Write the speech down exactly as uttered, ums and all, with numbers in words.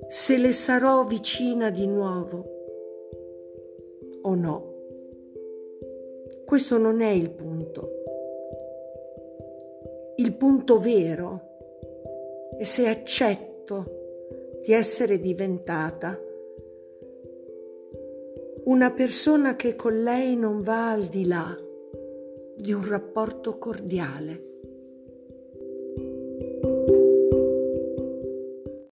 se le sarò vicina di nuovo o no. Questo non è il punto. Il punto vero è se accetto di essere diventata una persona che con lei non va al di là di un rapporto cordiale.